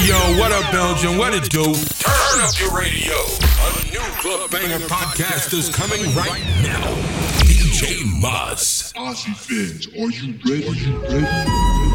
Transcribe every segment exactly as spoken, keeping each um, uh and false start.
What up, Belgium? What it do? Turn up your radio. A new Club Banger podcast is coming right now. D J Muzz. Ozzy Finch, are you ready? Are you ready?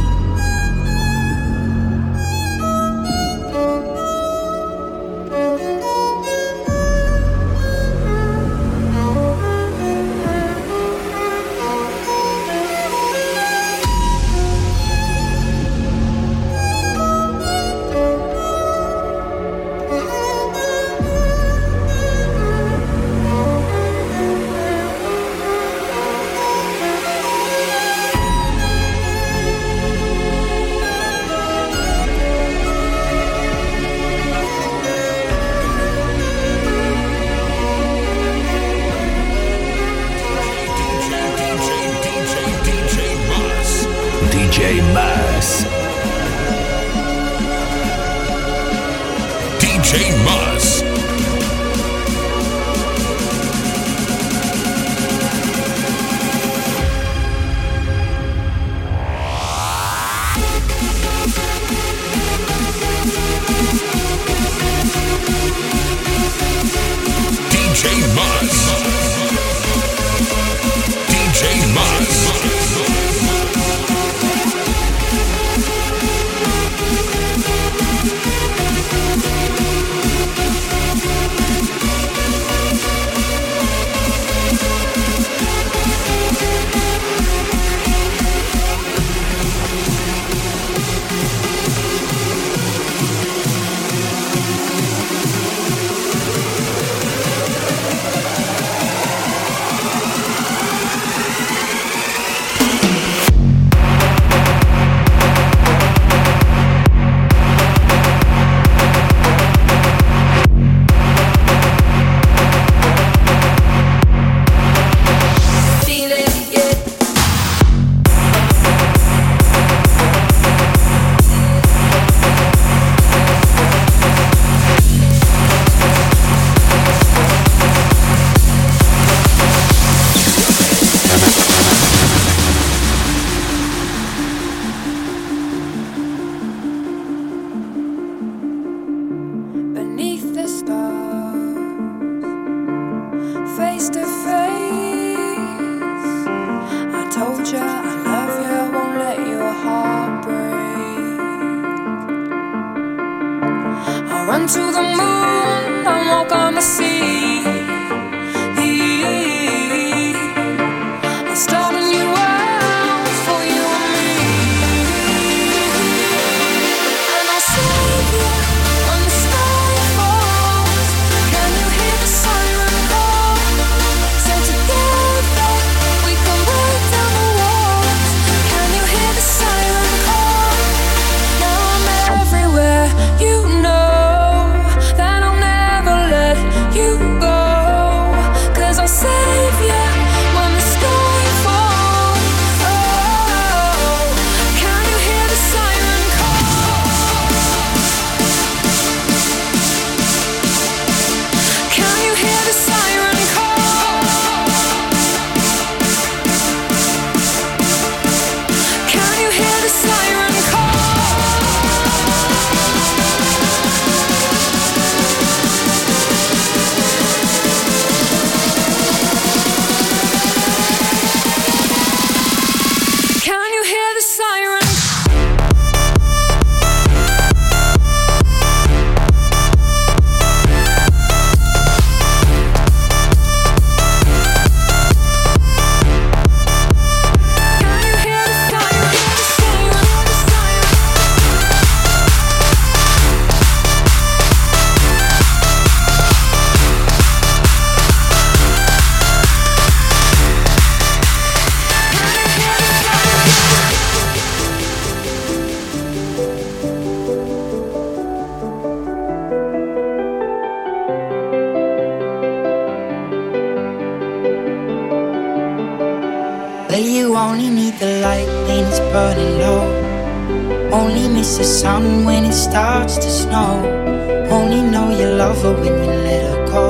Sun when it starts to snow. Only know you love her when you let her go.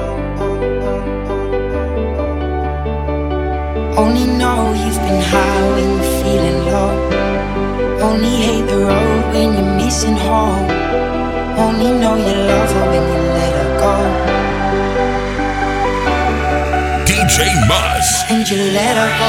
Only know you've been high when you're feeling low. Only hate the road when you're missing home. Only know you love her when you let her go. D J Muzz. And you let her go.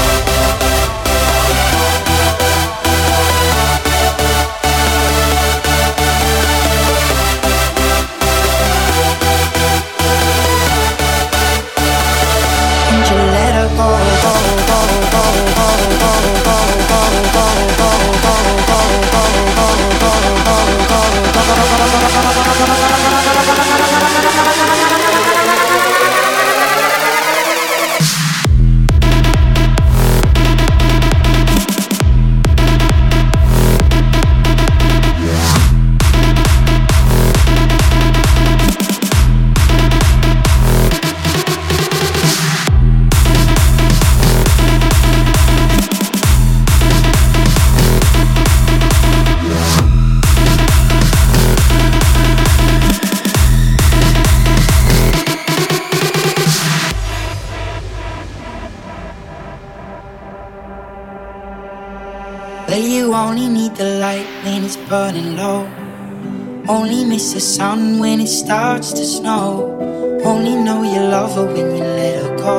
Well, you only need the light when it's burning low. Only miss the sun when it starts to snow. Only know you love her when you let her go.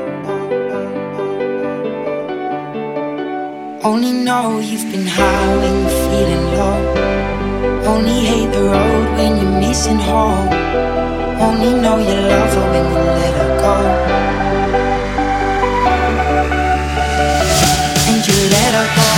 Only know you've been high when you're feeling low. Only hate the road when you're missing home. Only know you love her when you let her go. And you let her go.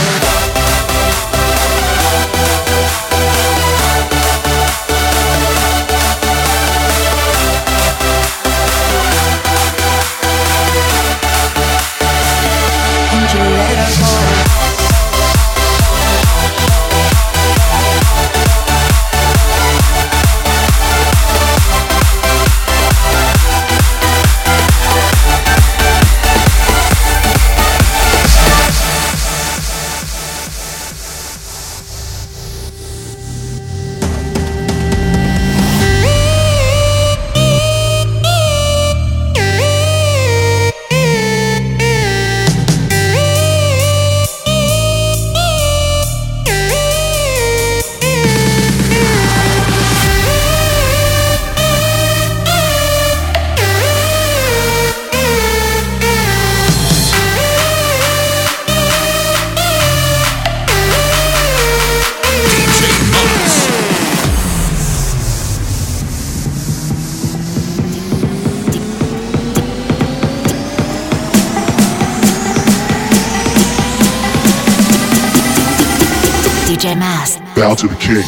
D J Muzz. Bow to the king.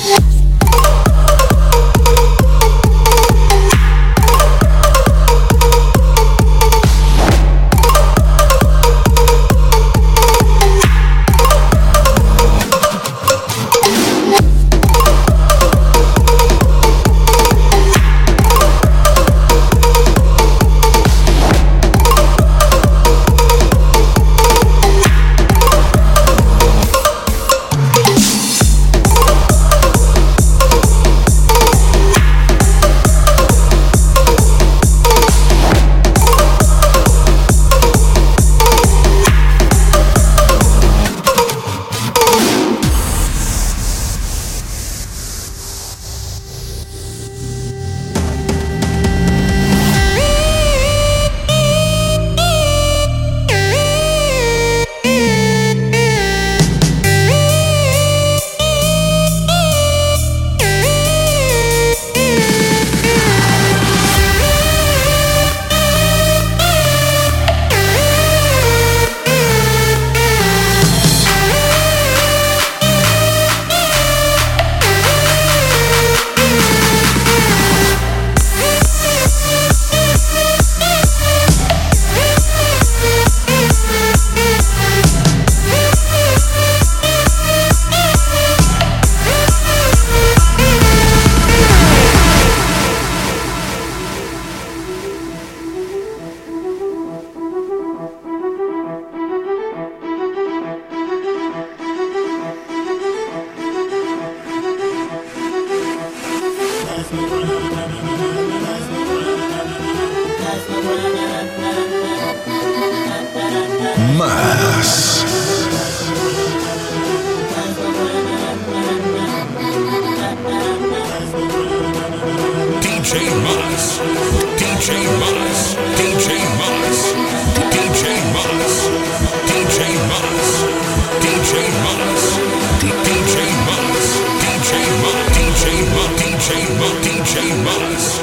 J Maz, D J Maz, D J Maz, D J Maz, D J Maz, D J Maz, D J Maz, D J Maz, D J Maz, D J Maz, D J Maz.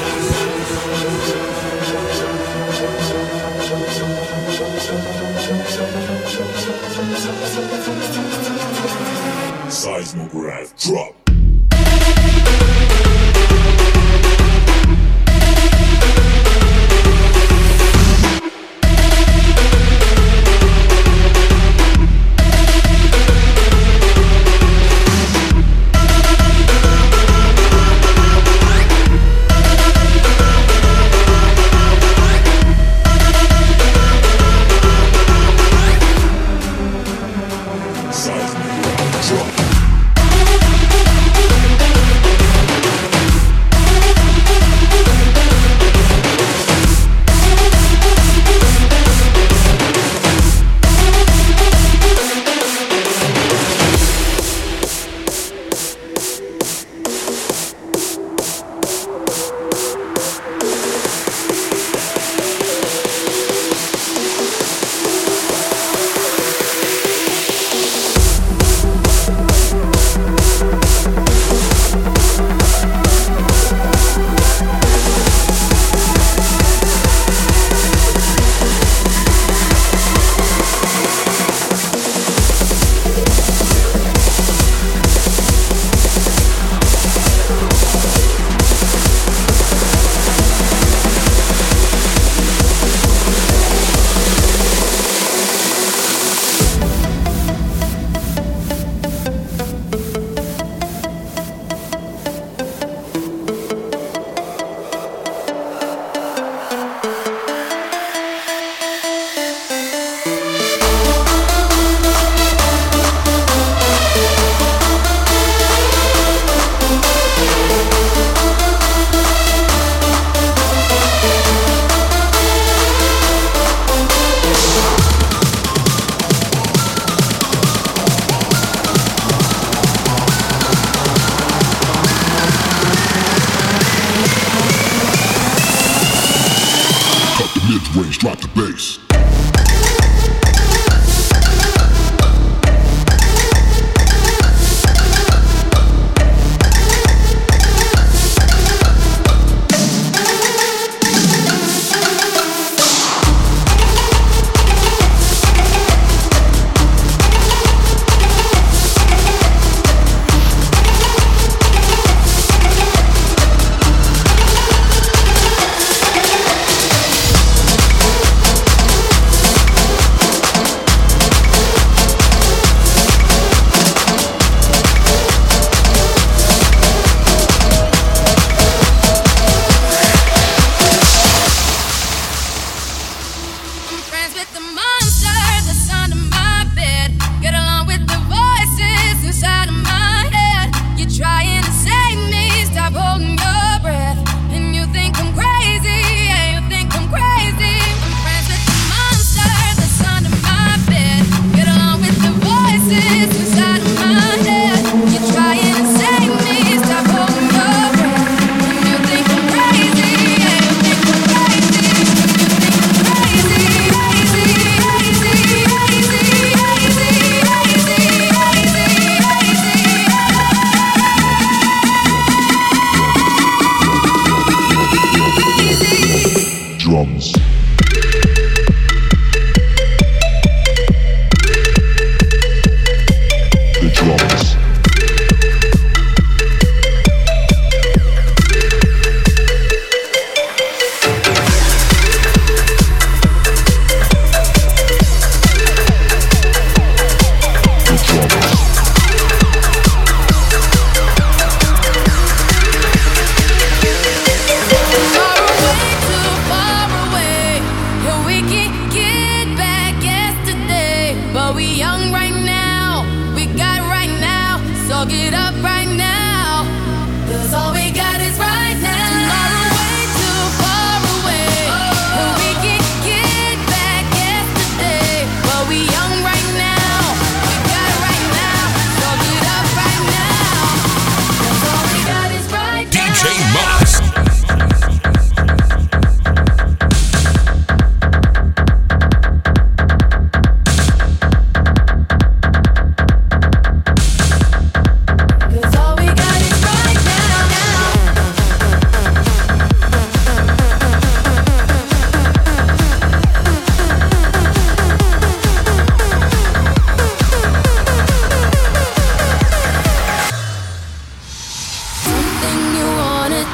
Seismograph drop. Drop.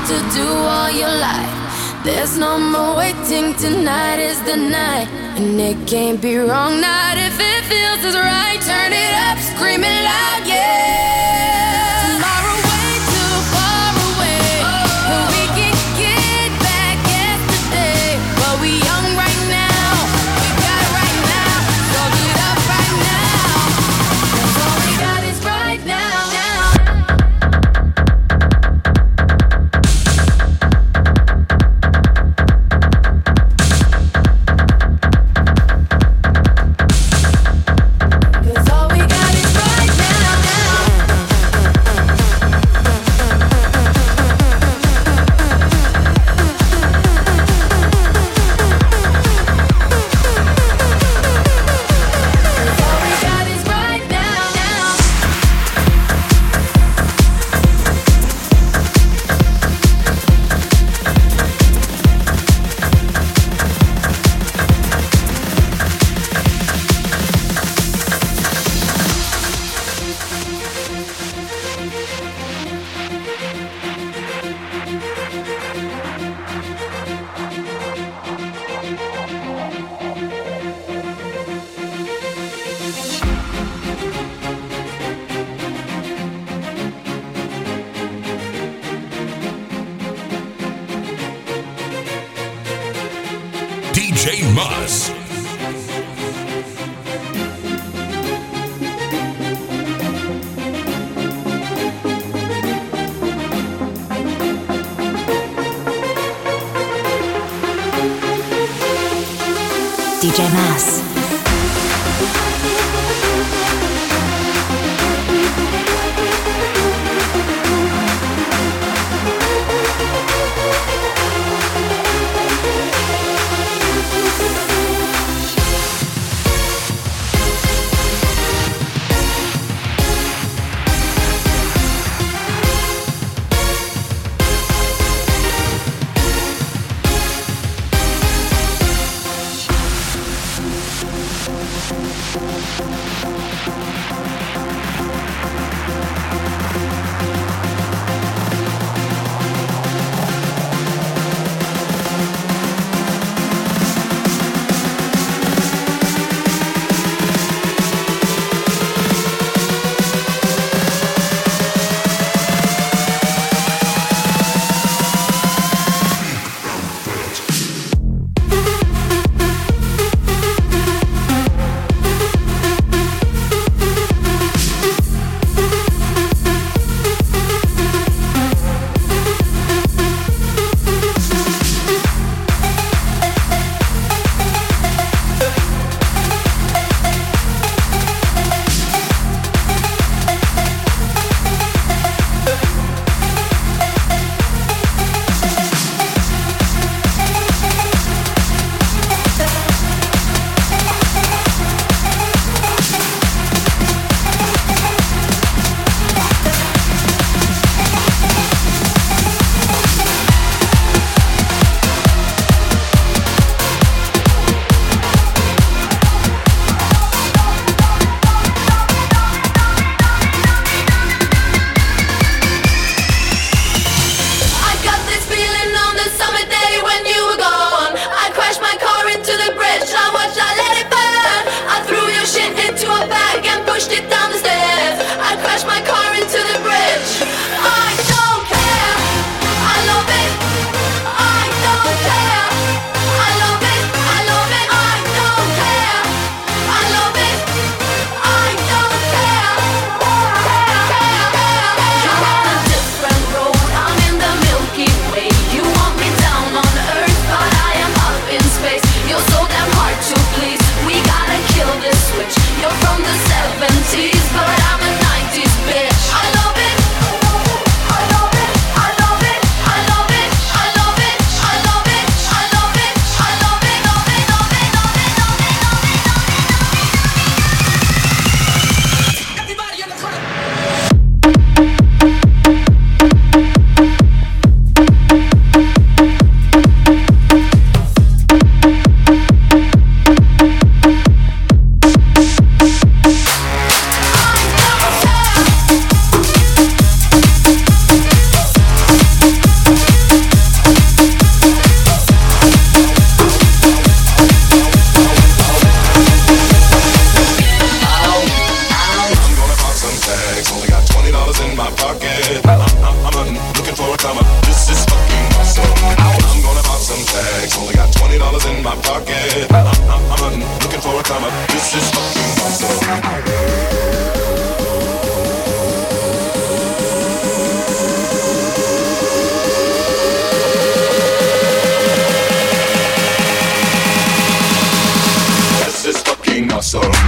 to do all your life. There's no more waiting, tonight is the night. And it can't be wrong, not if it feels as right. Turn it up, scream it loud, yeah. Tomorrow way too far away, but we can get back yesterday. But we young right now, we got it right now. So get up right now, 'cause all we got is right now, now. D J Muzz. D J Muzz. a come up. This is fucking awesome. I'm gonna pop some tags. Only got twenty dollars in my pocket. I'm, I'm, I'm hunting, looking for a come up. This is fucking awesome. Awesome.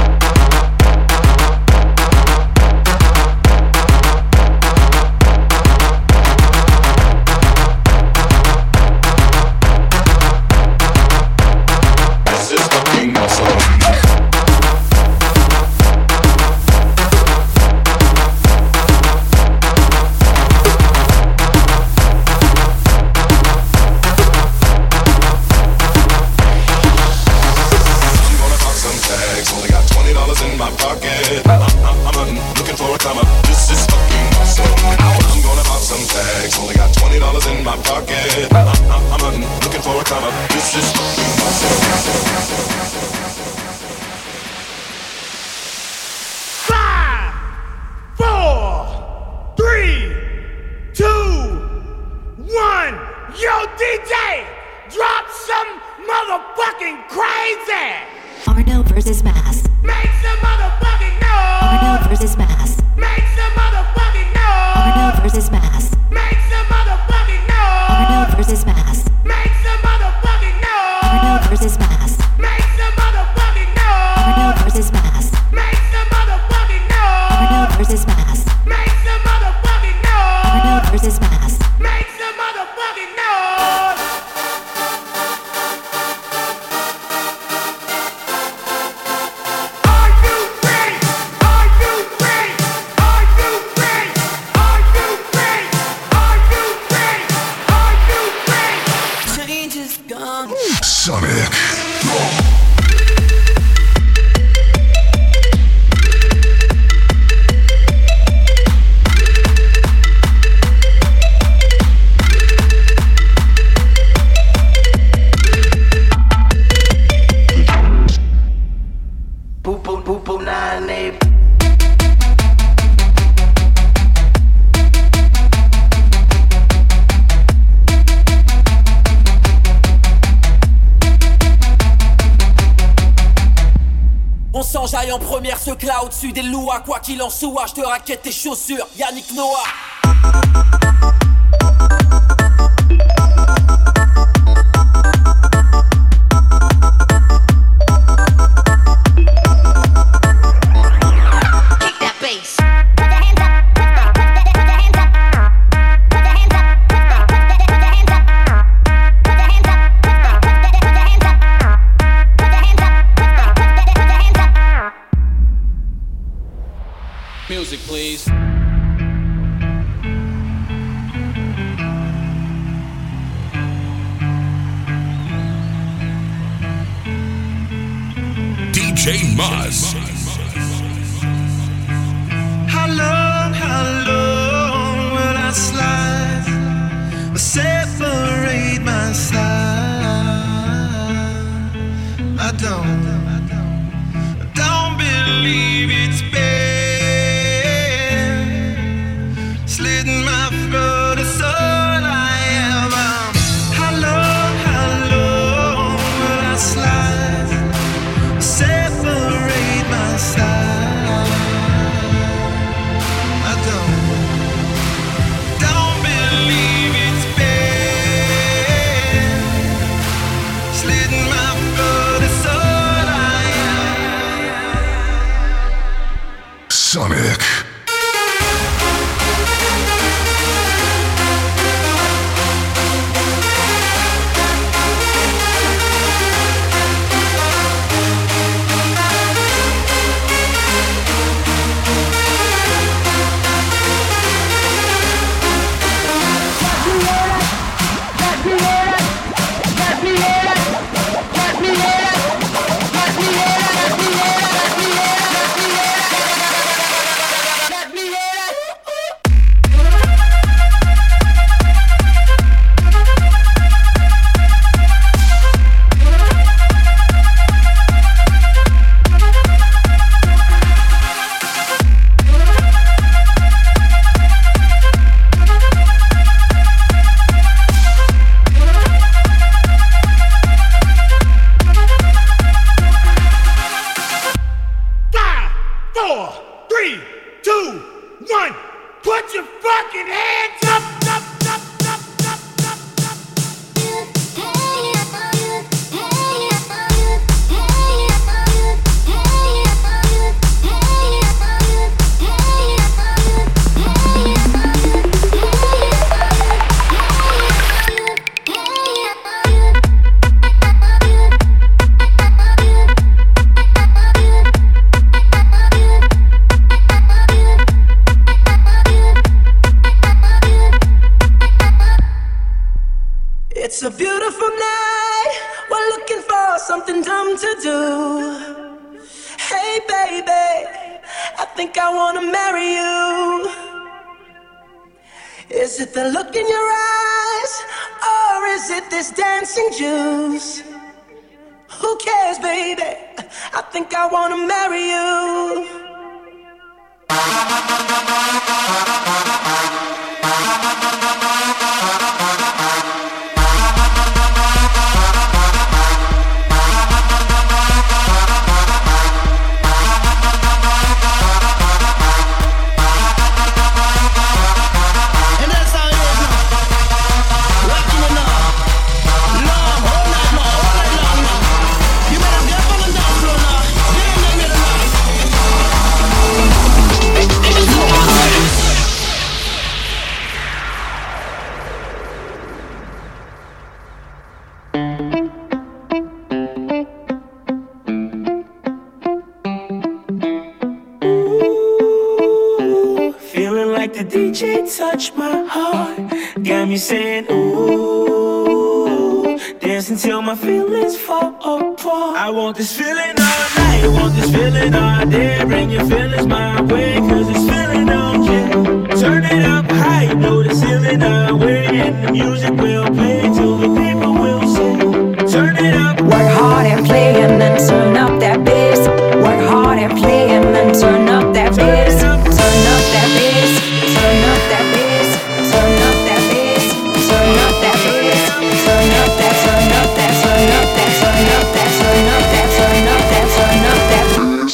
En première, ce cloud au-dessus des louas. Quoi qu'il en soit, je te raquette tes chaussures. Yannick Noah. Music, please. D J Maz. How long, how long will I slide or separate my side? I don't, I don't believe it's been. Slitting my throat is all I am. How long, how long will I slide? Separate my It's a beautiful night. We're looking for something dumb to do. Hey baby, I think I wanna marry you. Is it the look in your eyes, or is it this dancing juice? Who cares, baby? I think I wanna marry you. Touch my heart, got me saying ooh, dance until my feelings fall apart. I want this feeling all night, want this feeling all day. Bring your feelings my way, cause it's feeling okay. Turn it up high, blow the ceiling away, and the music will play till the people will sing. Turn it up. Work hard and play and then turn up that bass. Work hard and play and then turn up that bass. Turn up that bass. Turn up that bass, turn up that bass, turn up that bass, turn up that, turn up that, turn up that, turn up that, turn up that, turn up that, turn up that bass.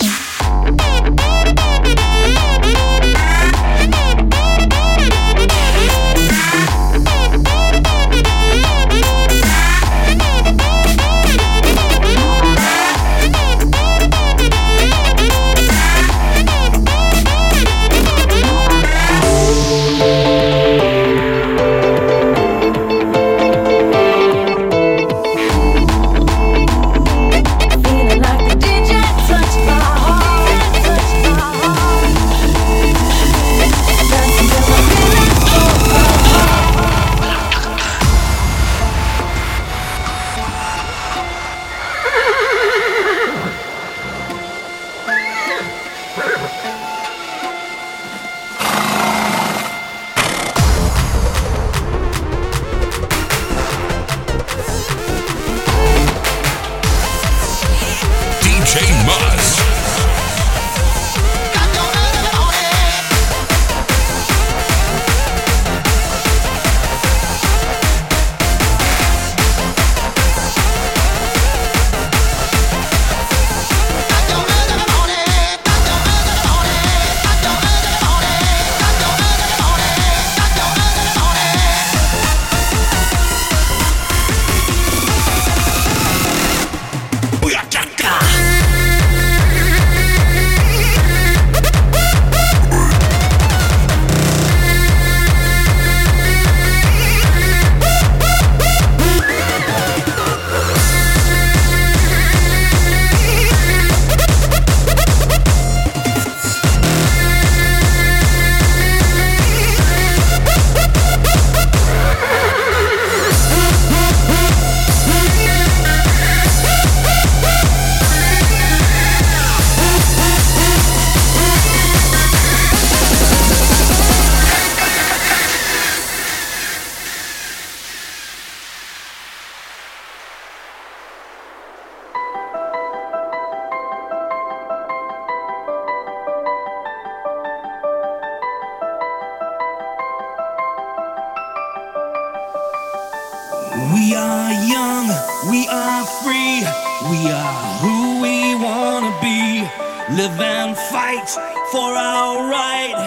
We are young, we are free, we are who we wanna be. Live and fight for our right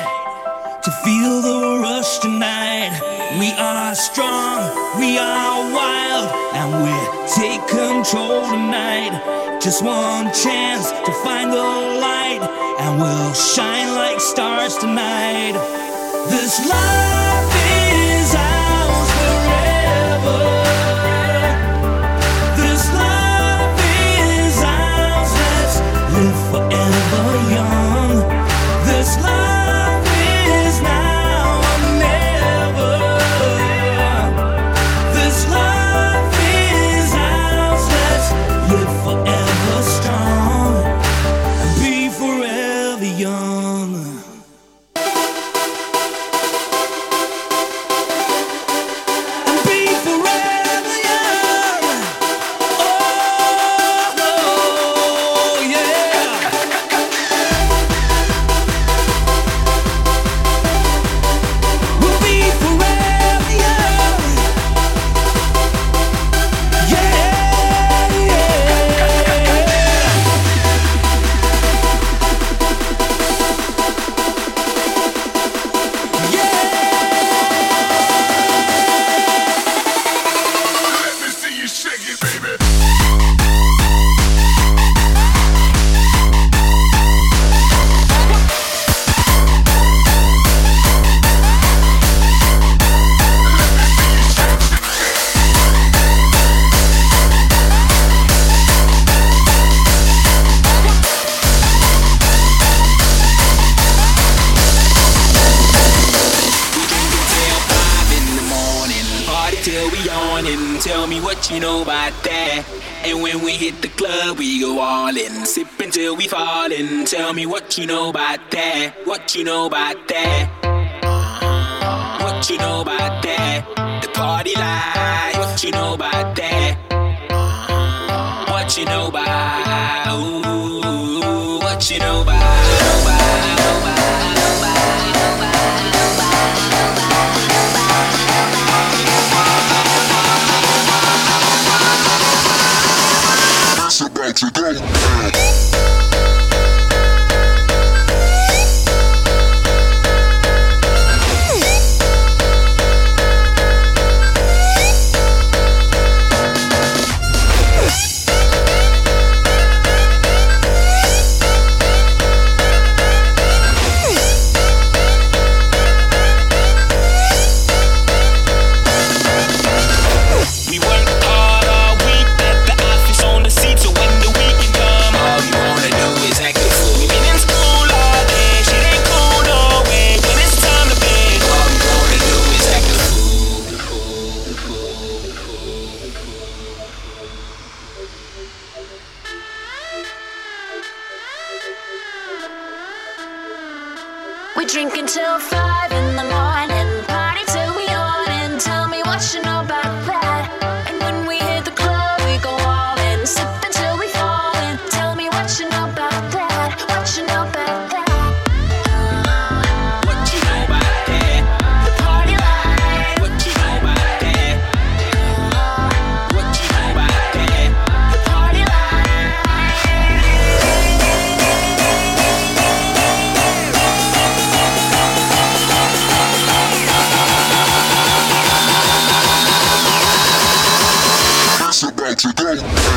to feel the rush tonight. We are strong, we are wild, and we take control tonight. Just one chance to find the light, and we'll shine like stars tonight. This life is ours forever. Forever young. This life is now or never. This life till we on and tell me what you know about that. And when we hit the club, we go all in. Sip until we fall in. Tell me what you know about that. What you know about that. Uh-huh. What you know about that. The party life. What you know about that. Uh-huh. What you know about. Ooh, what you know about. Know about, know about, know about, know about, know about. About to go. We drink until five in the morning, party till we on and tell me what you know about that. And when we hit the club, we go all in, sip until we fall in. Tell me what you know about that, what you know about that. What you know about that? The party life. What you know about that? What you know about that? The party life. About to go.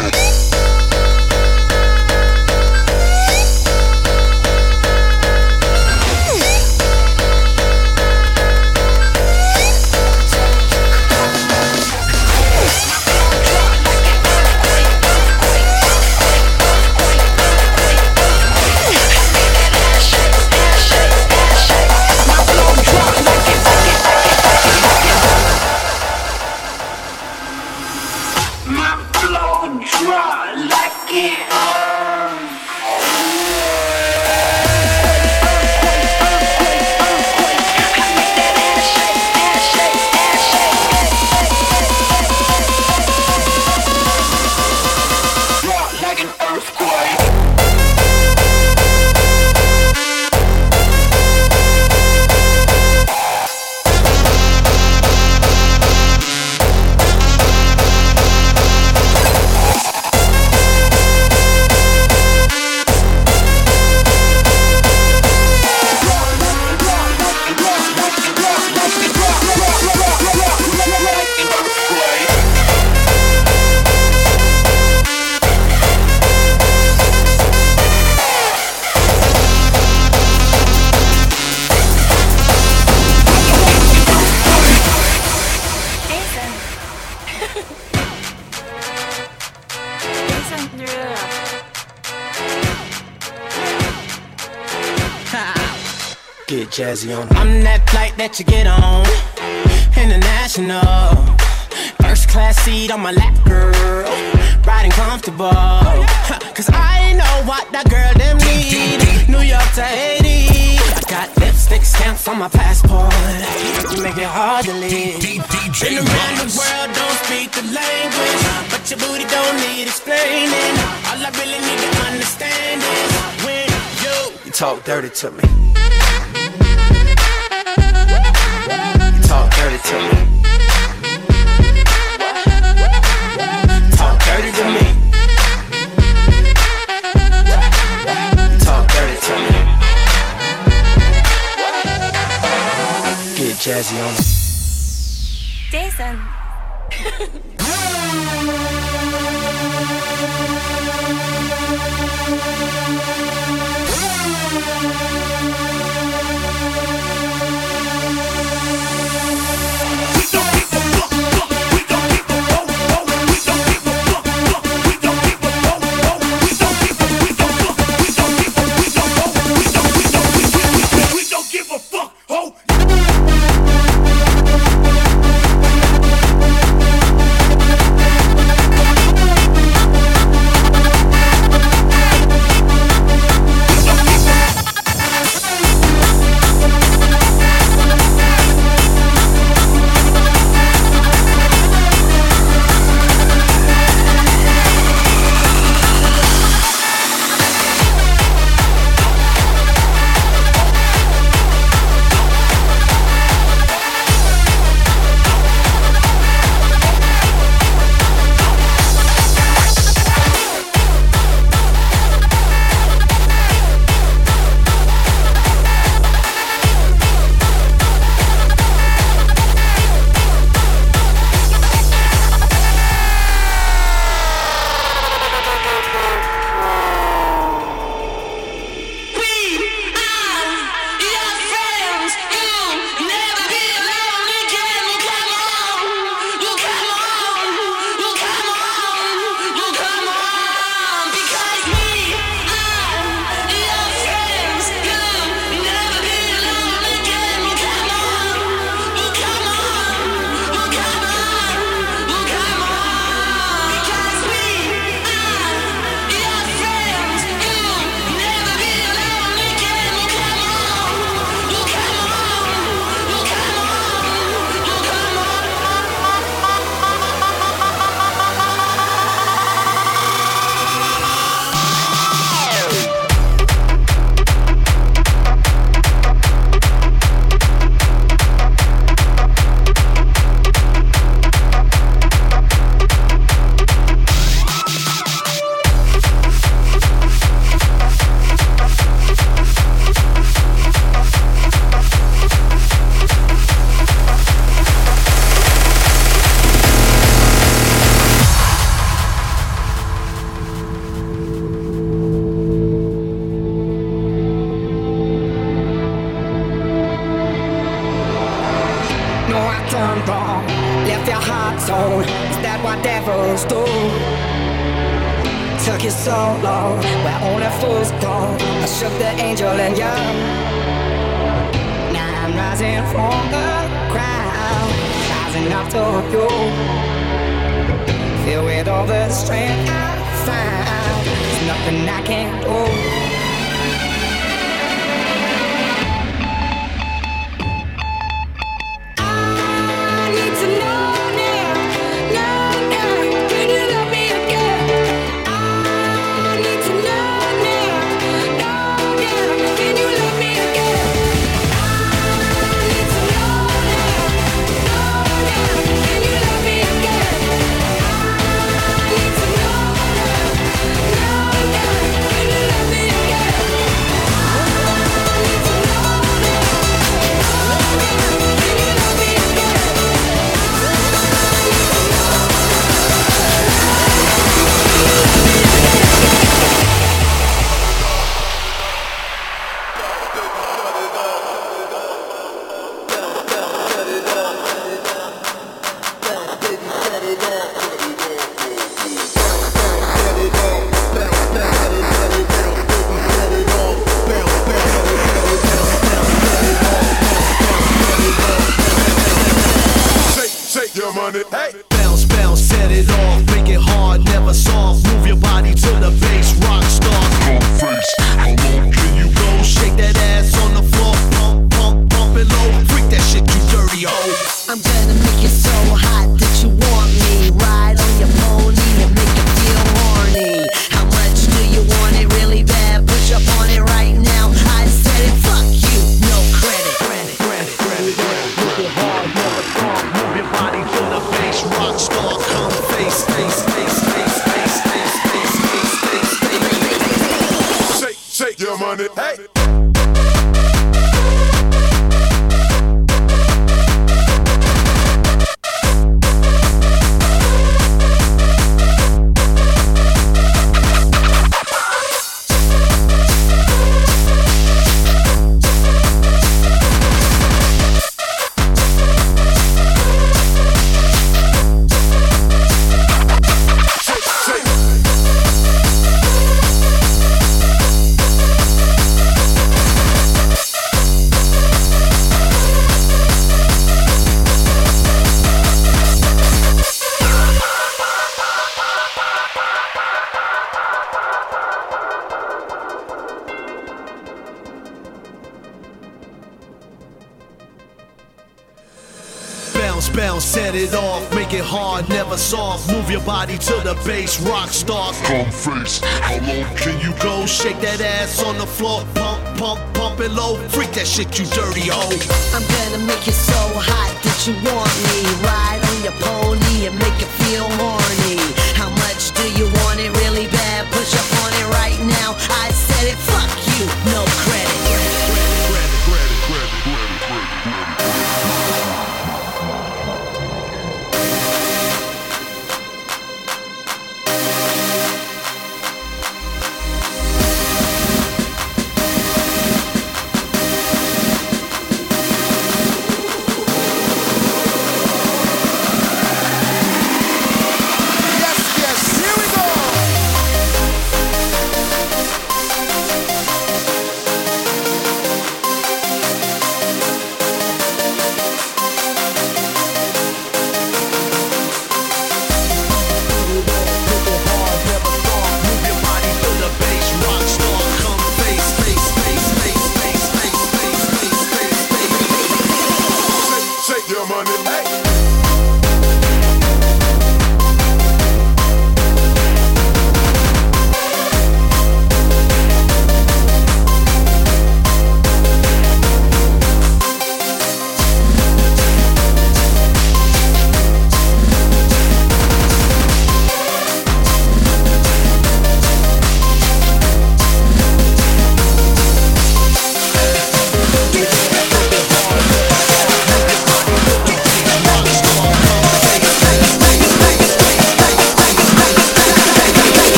Get jazzy on. I'm that flight that you get on, international. First class seat on my lap, girl. Riding comfortable. Cause I know what that girl them need. New York to Haiti. I got lipstick stamps on my passport. You make it hard to live. Been around the world, don't speak the language, but your booty don't need explaining. All I really need to understand is when you, you talk dirty to me. You talk dirty to me. Talk dirty to me. You talk dirty to me. Get jazzy on it. Jason. Give a fuck, ho! left your heart torn. Is that what devils do? Took you so long, where only fools go. I shook the angel in you. Now I'm rising from the crowd, rising up to you. Filled with all the strength I found, there's nothing I can't do. Hey. Bounce, bounce, set it off, make it hard, never soft. Move your body to the bass, rock star. Come face, how low can you go? Shake that ass on the floor, pump, pump, pump it low. Freak that shit, you dirty hoe. I'm gonna make you so hot that you want me. Ride on your pony and make you feel horny. How much do you want it really bad? Push up on it right now. I said it, fuck you, no credit. Credit, credit, credit, credit. Make it hard, never soft. Move your body to the bass, rock star. Come face, face, face, face, face, face, face, face, face, face. Shake, shake your money, hey. Bounce, set it off, make it hard, never soft. Move your body to the bass, rock star. Come face, how low can you go? Shake that ass on the floor, pump, pump, pump it low. Freak that shit, you dirty hoe. I'm gonna make you so hot that you want me. Ride on your pony and make you feel horny. How much do you want it really bad? Push up on it right now. I said it, fuck you, no credit.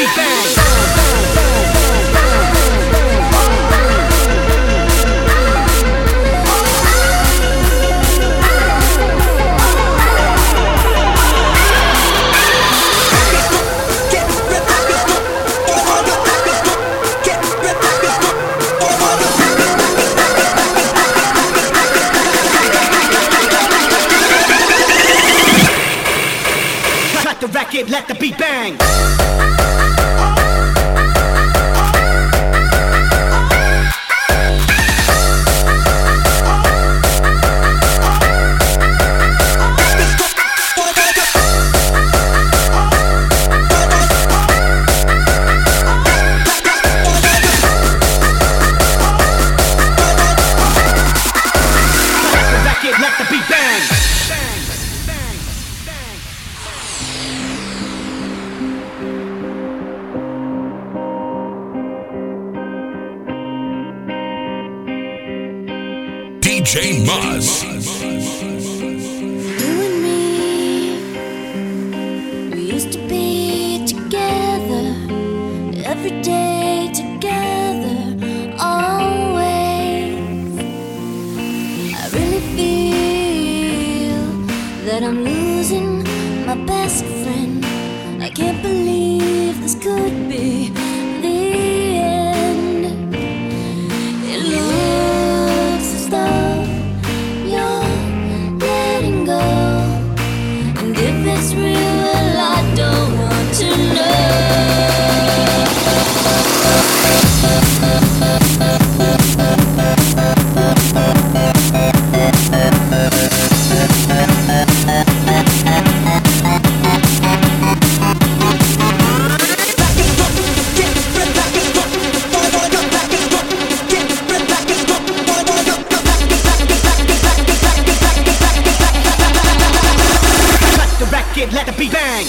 beat bang. Let the beat bang. D J Maz. You and me, we used to be together, every day together, always. I really feel that I'm losing my best friend. I can't believe this could be the end. It looks as though you're letting go, and if it's real, well, I don't want to know. Let the beat bang.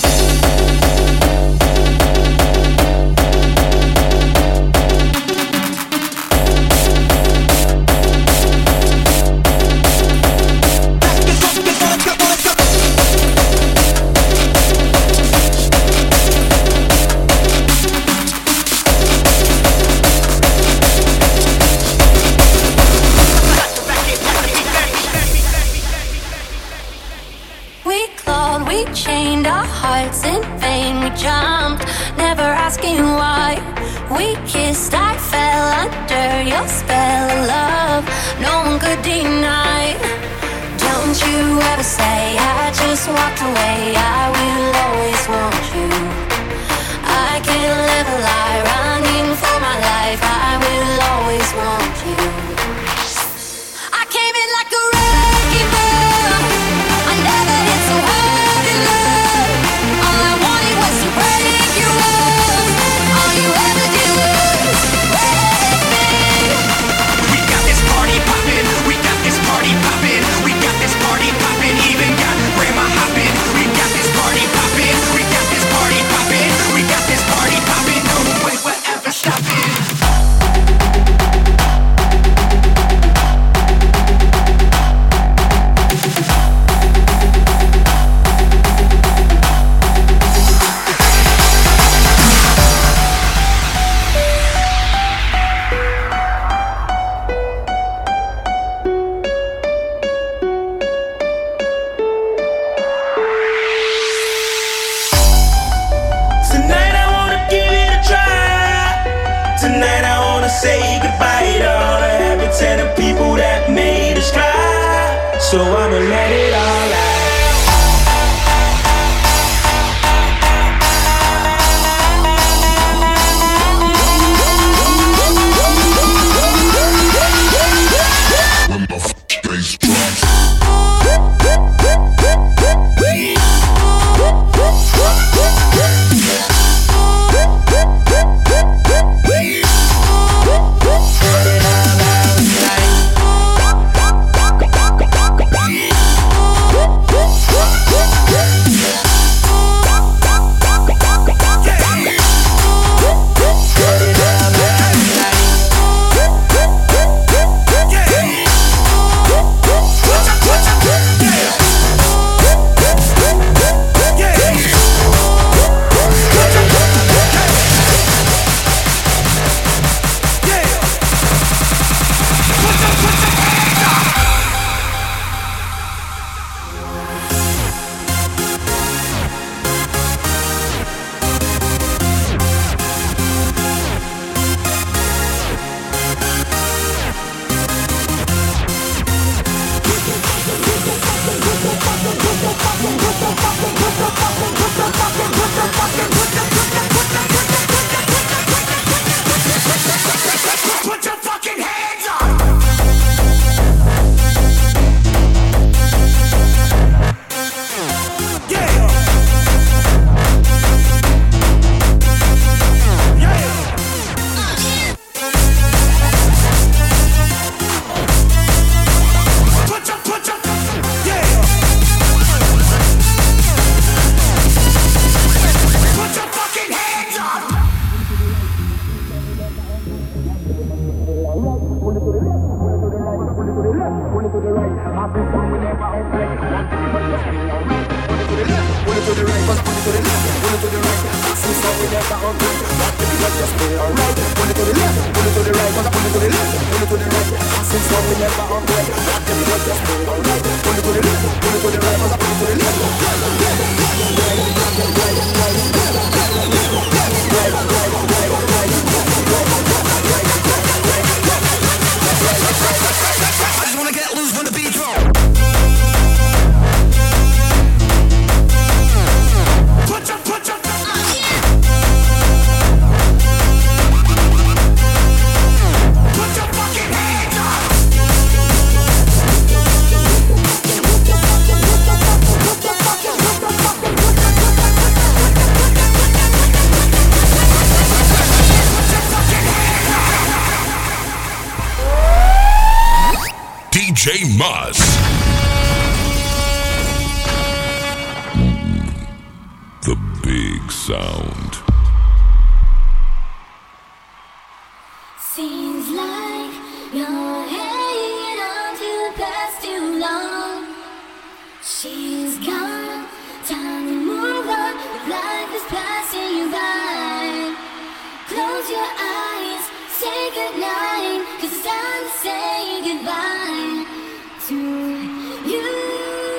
We clawed, we chained our hearts in vain. We jumped, never asking why. We kissed, I fell under your spell of love. No one could deny. Don't you ever say I just walked away. I will always want you. I can't live a lie, running for my life. I will always want you. I came in like a wrecking ball. I never hit so hard in love. All I wanted was to break your walls. All you ever did was break me. We got this party poppin', we got this party poppin', we got this party poppin', even got grandma hoppin'. We got this party poppin', we got this party poppin', we got this party poppin'. No way we're ever stopping. Tonight I wanna give it a try. Tonight I wanna say goodbye to all the habits and the people that made us cry. So I'ma let it all out. When the f- bass drops. What's up? D J Maz. The big sound. Seems like you're hanging on to the past too long. She's gone, time to move on. Life is passing you by. Close your eyes, say goodnight, 'cause it's time to say goodbye to you.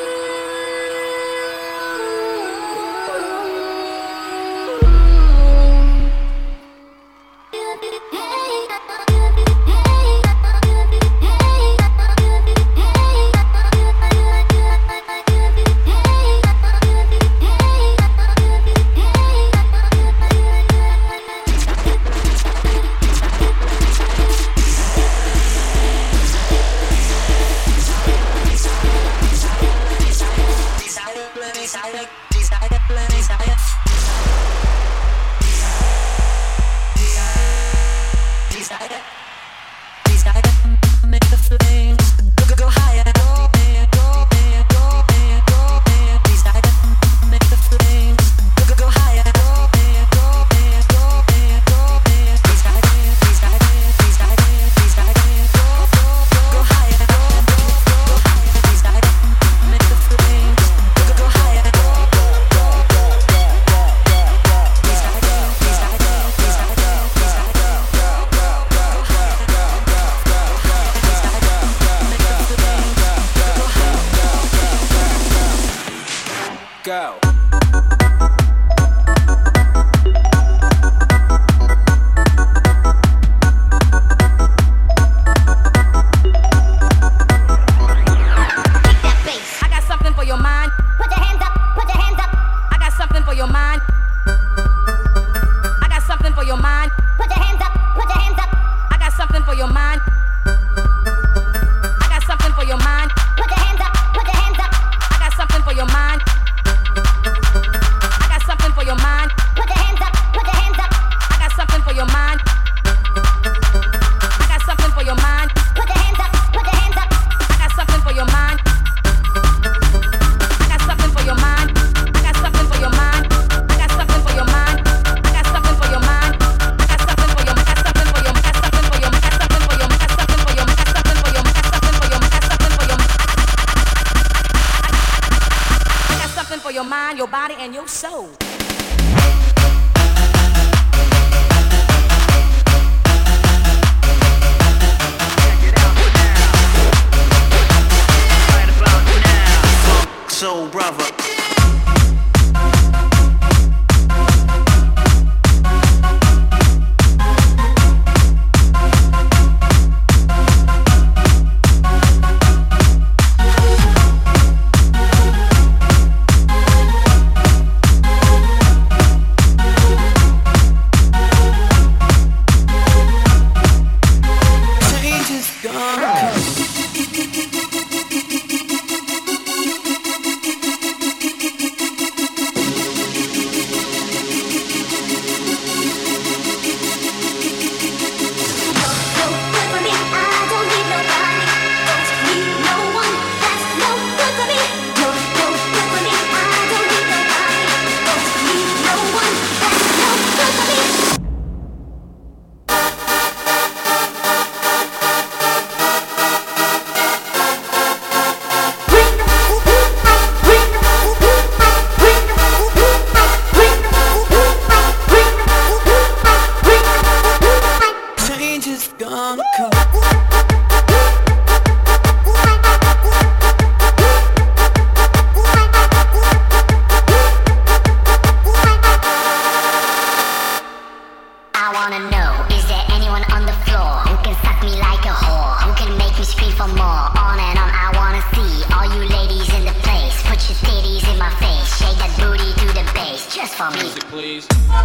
Go. I got something for your mind. Put your hands up, put your hands up. I got something for your mind. I got something for your mind. Put your hands up, put your hands up. I got something for your mind. I got something for your mind. Put your hands up, put your hands up. I got something for your mind. I got something for your mind. Put your hands up, put your hands up. I got something for your mind. I got something for your mind. Put your hands up, put your hands up. I got something for your mind. I got something for your mind. I got something for your mind. I got something for your mind. I got something for your mind. I got something for your got something for your got something for your got something for your got something for your got something for your got something for your got something for your I got something for your mind, your body, and your soul. Soul brother. Change is gone. family. Music, please.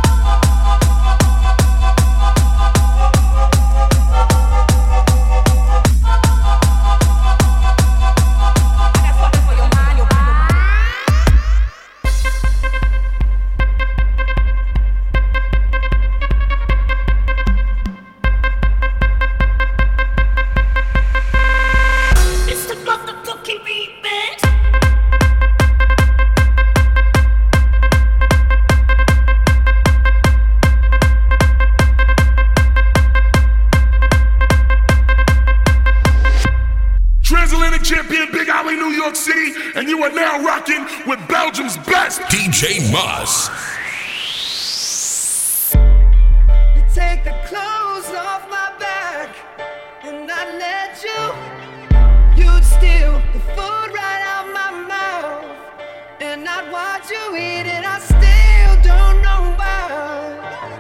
Champion, Big Alley, New York City, and you are now rocking with Belgium's best, D J Muzz. You take the clothes off my back, and I let you. You'd steal the food right out my mouth, and I'd watch you eat it. I still don't know why,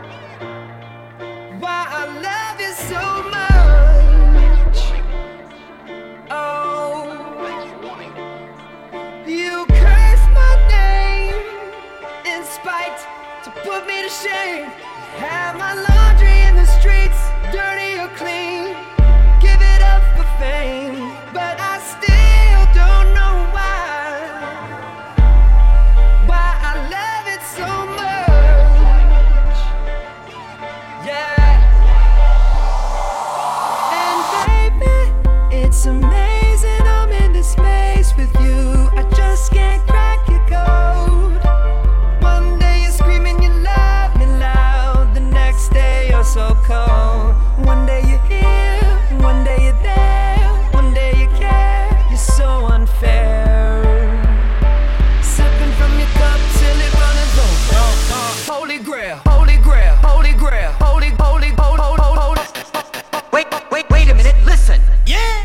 why I love you so much. You curse my name in spite to put me to shame. Have my laundry in the streets, dirty or clean. Give it up for fame, but I still don't know why. Why I love it so much. Yeah. And baby, it's amazing I'm in this space with you. I just can't crack your code. One day you're screaming you love me loud, the next day you're so cold. One day you're here, one day you're there, one day you care. You're so unfair. Sipping from your cup till it runneth over. Holy grail, holy grail, holy grail, holy, holy, holy, holy, holy. Wait, wait, wait a minute, listen. Yeah.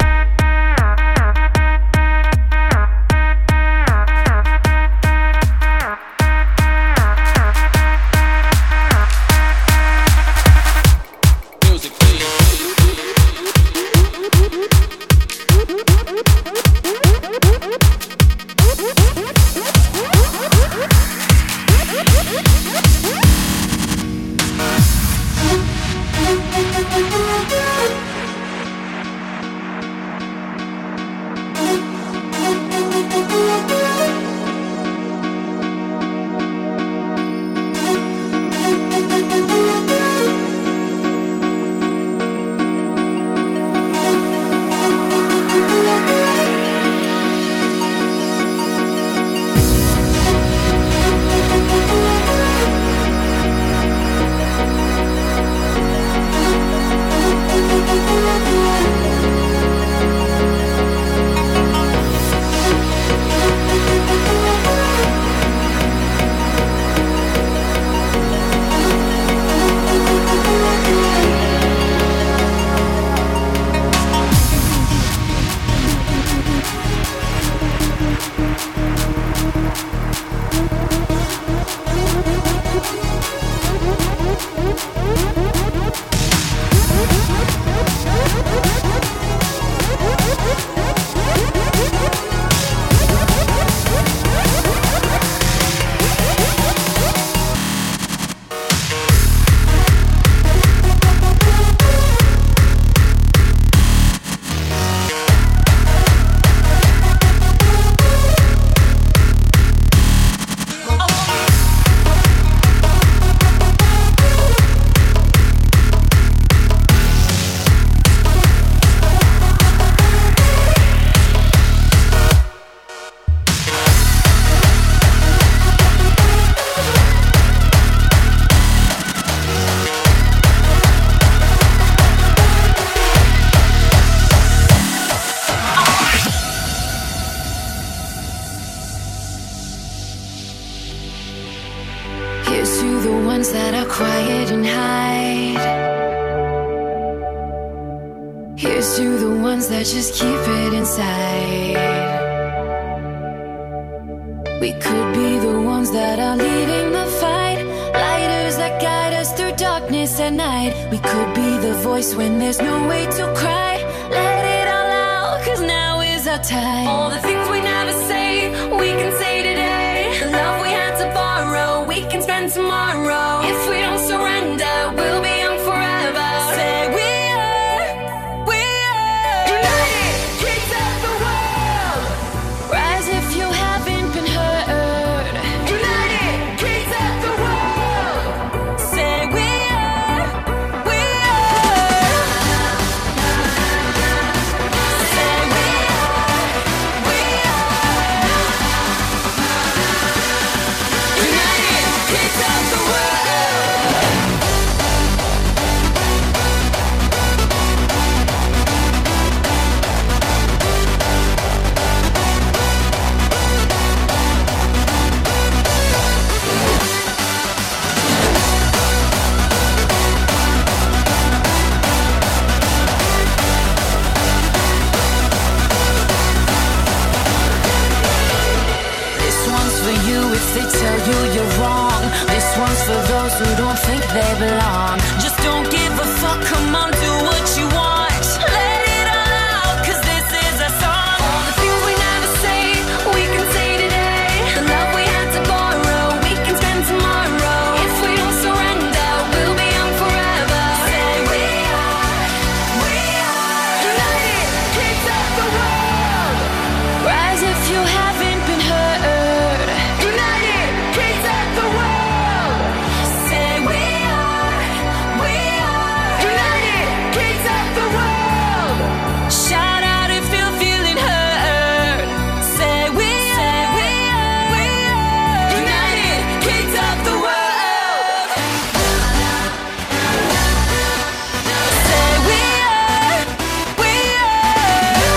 Just keep it inside. We could be the ones that are leading the fight, lighters that guide us through darkness at night. We could be the voice when there's no way to cry. Let it all out, cause now is our time. All the things we never say, we can say today. The love we had to borrow, we can spend those who don't think they belong. Just don't give a fuck, come on, do what you want. Let it all out, cause this is a song. All the things we never say, we can say today. The love we had to borrow, we can spend tomorrow. If we don't surrender, we'll be young forever. Say we are, we are united kids of the world. Rise if you haven't been heard. United kids of the world. Say we are, we are united kids of the world. Shout out if you're feeling hurt. Say we are, we are, we are united kids of the world. Say we are, we are.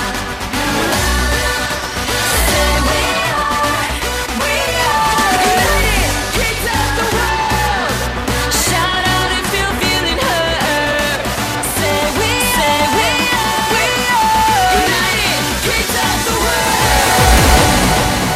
Say we are, we are united kids of the world. Shout out if you're feeling hurt. Say we, say we are, we are united kids of the world.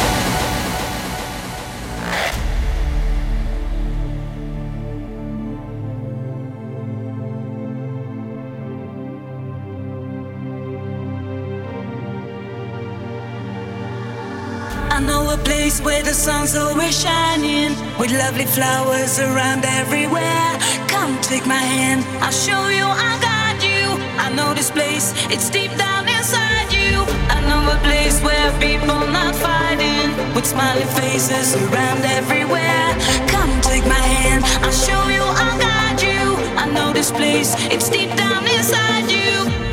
I know a place where the sun's always shining, with lovely flowers around everywhere. Come take my hand, I'll show you, I'll guide you. I know this place, it's deep down inside you. I know a place where people not fighting, with smiling faces around everywhere. Come take my hand, I'll show you, I'll guide you. I know this place, it's deep down inside you.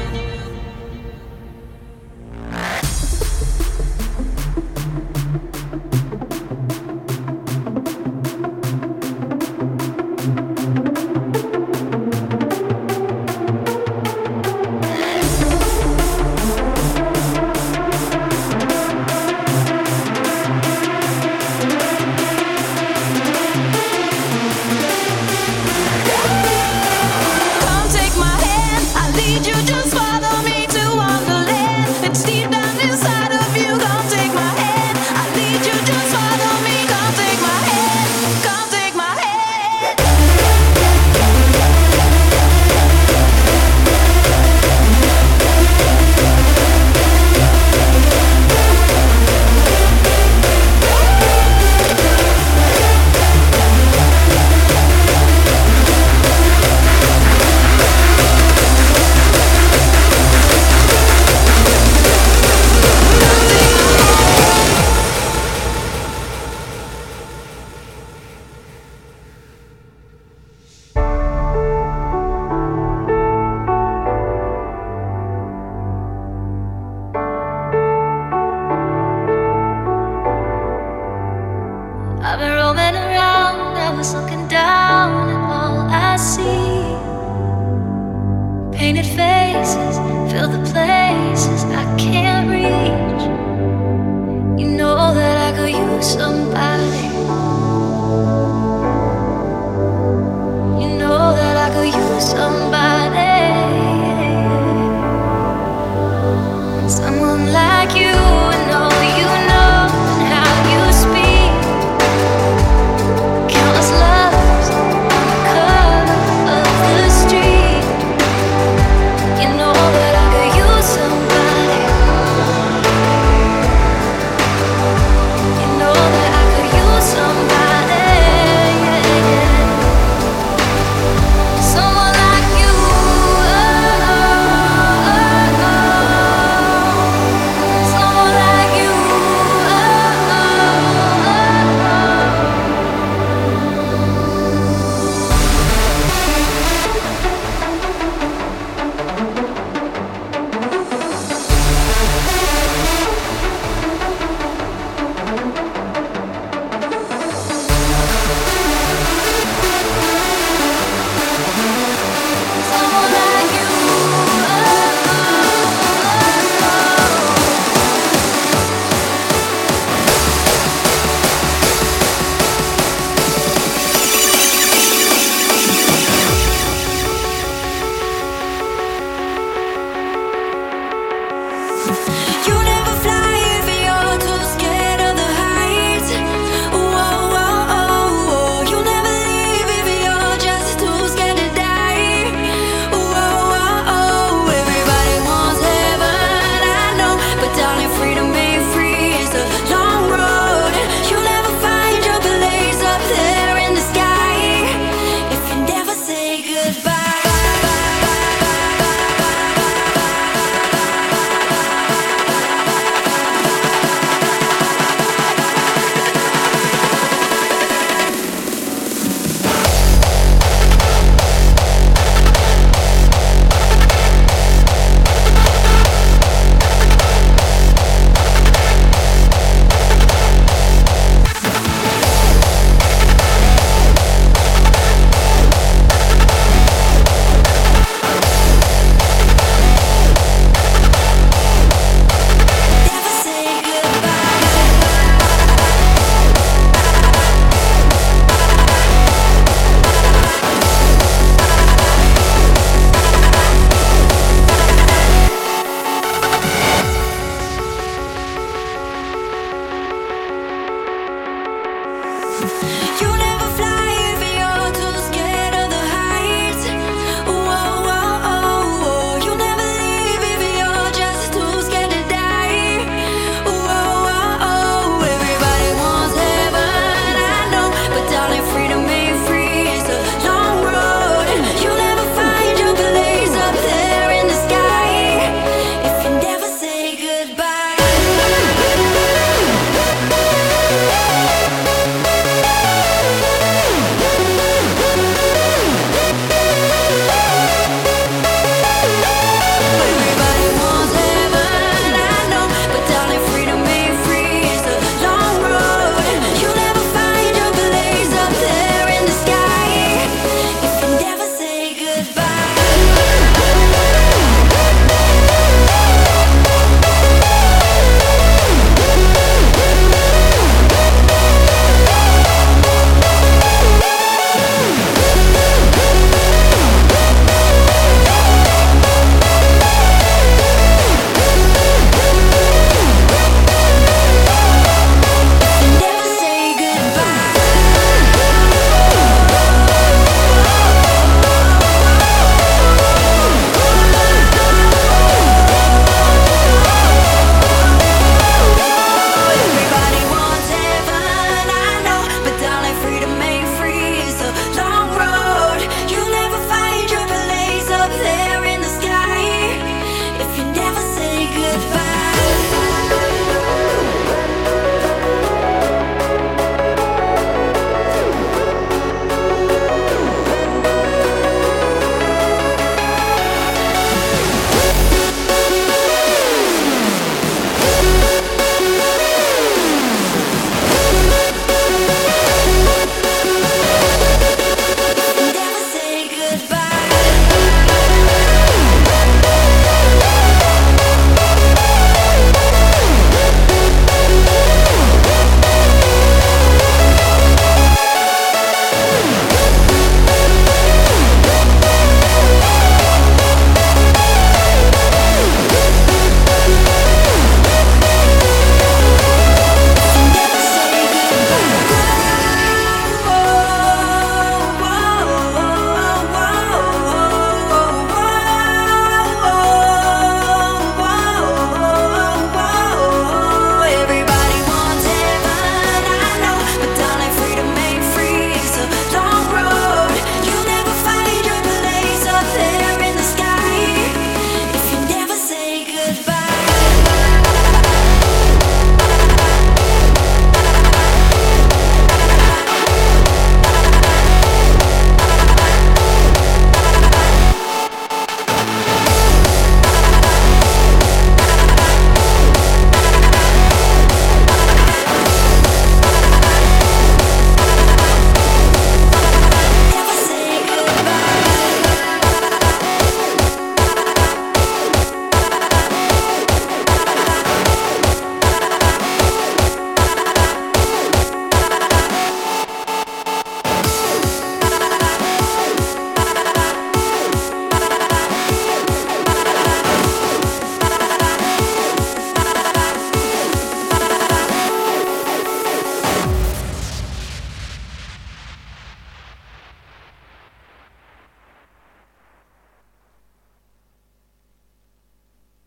Come take my hand, I'll lead you, just follow me to Wonderland. It's deep down inside of you. Come take my hand, I'll lead you, just follow me. Come take my hand, come take my hand. I've been roaming around, I was looking down, and all I see painted faces fill the places I can't reach. You know that I could use somebody. You know that I could use somebody. Someone like you, and all you know, and how you speak. Countless lovers on the corner of the street. You know that You